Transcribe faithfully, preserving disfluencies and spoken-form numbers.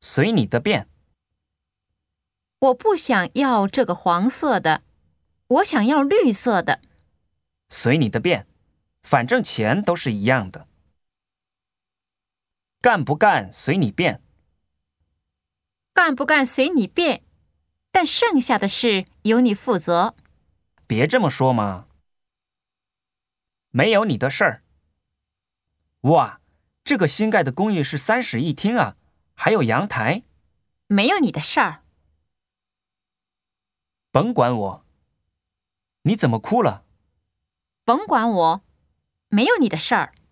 随你的便。 我不想要这个黄色的，我想要绿色的。 随你的便，反正钱都是一样的。干不干随你便。 干不干随你便，但剩下的事由你负责。 别这么说嘛。没有你的事儿。哇，这个新盖的公寓是三室一厅啊，还有阳台。 没有你的事儿。 甭管我。你怎么哭了？ 甭管我，没有你的事儿。